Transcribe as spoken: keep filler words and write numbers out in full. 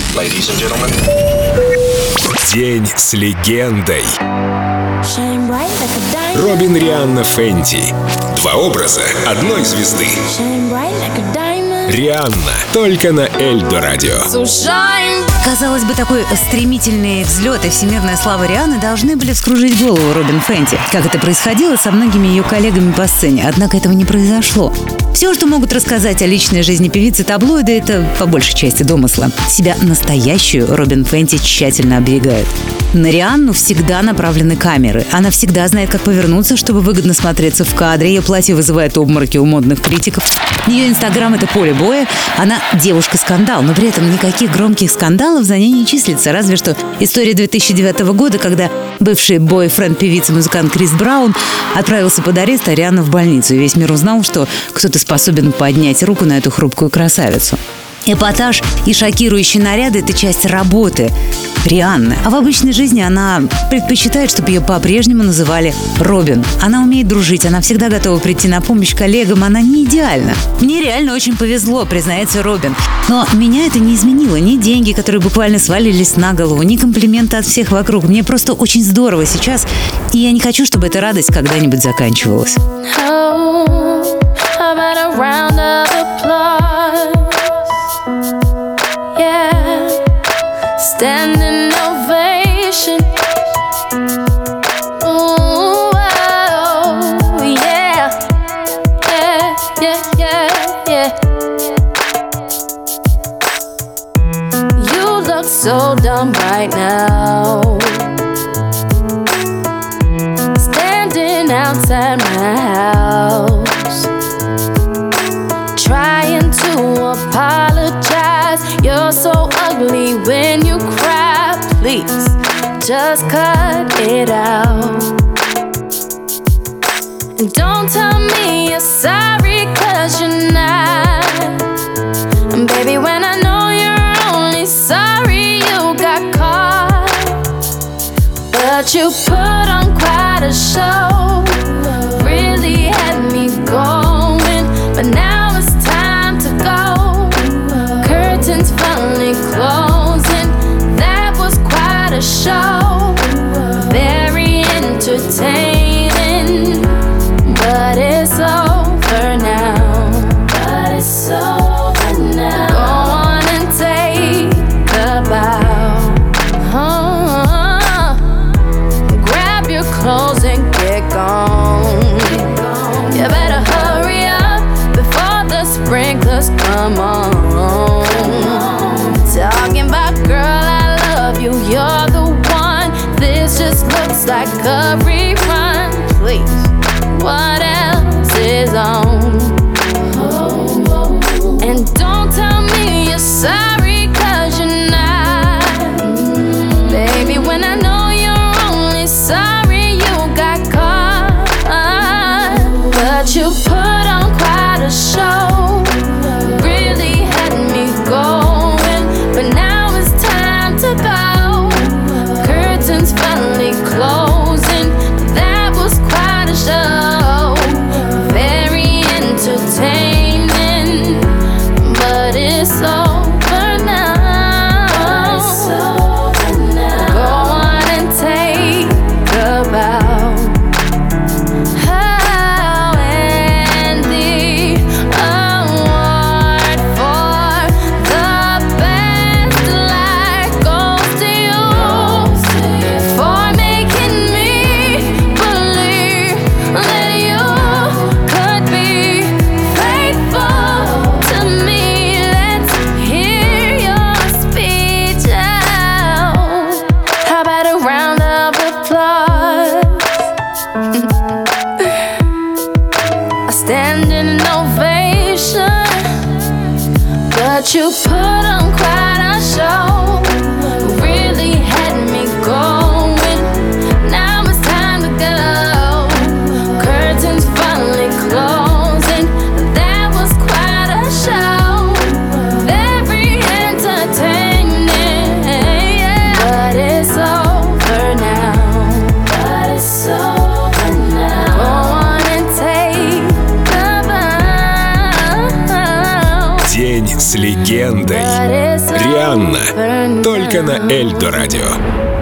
Ladies and gentlemen. День с легендой. Робин Рианна Фенти. Два образа одной звезды. Рианна. Только на Эльдо Радио. Казалось бы, такой стремительный взлет и всемирная слава Рианны должны были вскружить голову Робин Фенти, как это происходило со многими ее коллегами по сцене. Однако этого не произошло. Все, что могут рассказать о личной жизни певицы таблоиды, это по большей части домысла. Себя настоящую Робин Фенти тщательно оберегает. На Рианну всегда направлены камеры. Она всегда знает, как повернуться, чтобы выгодно смотреться в кадре. Ее платье вызывает обмороки у модных критиков. Ее инстаграм — это поле боя. Она девушка-скандал, но при этом никаких громких скандалов за ней не числится. Разве что история две тысячи девятого года, когда бывший бойфренд певицы-музыкант Крис Браун отправился под арест, а Рианна в больницу. И весь мир узнал, что кто-то способен поднять руку на эту хрупкую красавицу. Эпатаж и шокирующие наряды – это часть работы Рианны. А в обычной жизни она предпочитает, чтобы ее по-прежнему называли Робин. Она умеет дружить, она всегда готова прийти на помощь коллегам, она не идеальна. Мне реально очень повезло, признается Робин. Но меня это не изменило. Ни деньги, которые буквально свалились на голову, ни комплименты от всех вокруг. Мне просто очень здорово сейчас, и я не хочу, чтобы эта радость когда-нибудь заканчивалась. Standing ovation. Ooh, oh, yeah. Yeah, yeah, yeah, yeah. You look so dumb right now, standing outside my house, trying to apologize. You're so ugly when you cry. Please, just cut it out. And don't tell me you're sorry, cause you're not. And baby, when I know you're only sorry you got caught. But you put on quite a show, really had me going. But now it's time to go. Curtains finally closing. That was quite a show, very entertaining. But it's over now. But it's over now. Go on and take a bow. Oh, grab your clothes and get gone. You better hurry up before the sprinklers come on. Talking about, girl, I love you, you're the one. This just looks like a rerun. Please, what else is on? And don't tell me you're sorry, cause you're not. Baby, when I know you're only sorry you got caught. But you put on quite a show, really had me going. But now it's time to go. Curtains finally closing. That was quite a show, very entertaining. But it's over now. Go on and take a bow. Oh, and the award for the best life goes to you, for making me believe that you could be faithful to me. Let's hear your speech out. How about a round of applause? A standing ovation. But you put on quite a show, really had me going. Now it's time to go. Curtains finally closing. That was quite a show, very entertaining. But it's over now. But it's over now. Go on and take the bow. День с легендой. But it's over Рианна. Рианна. Только на Эльдо Радио.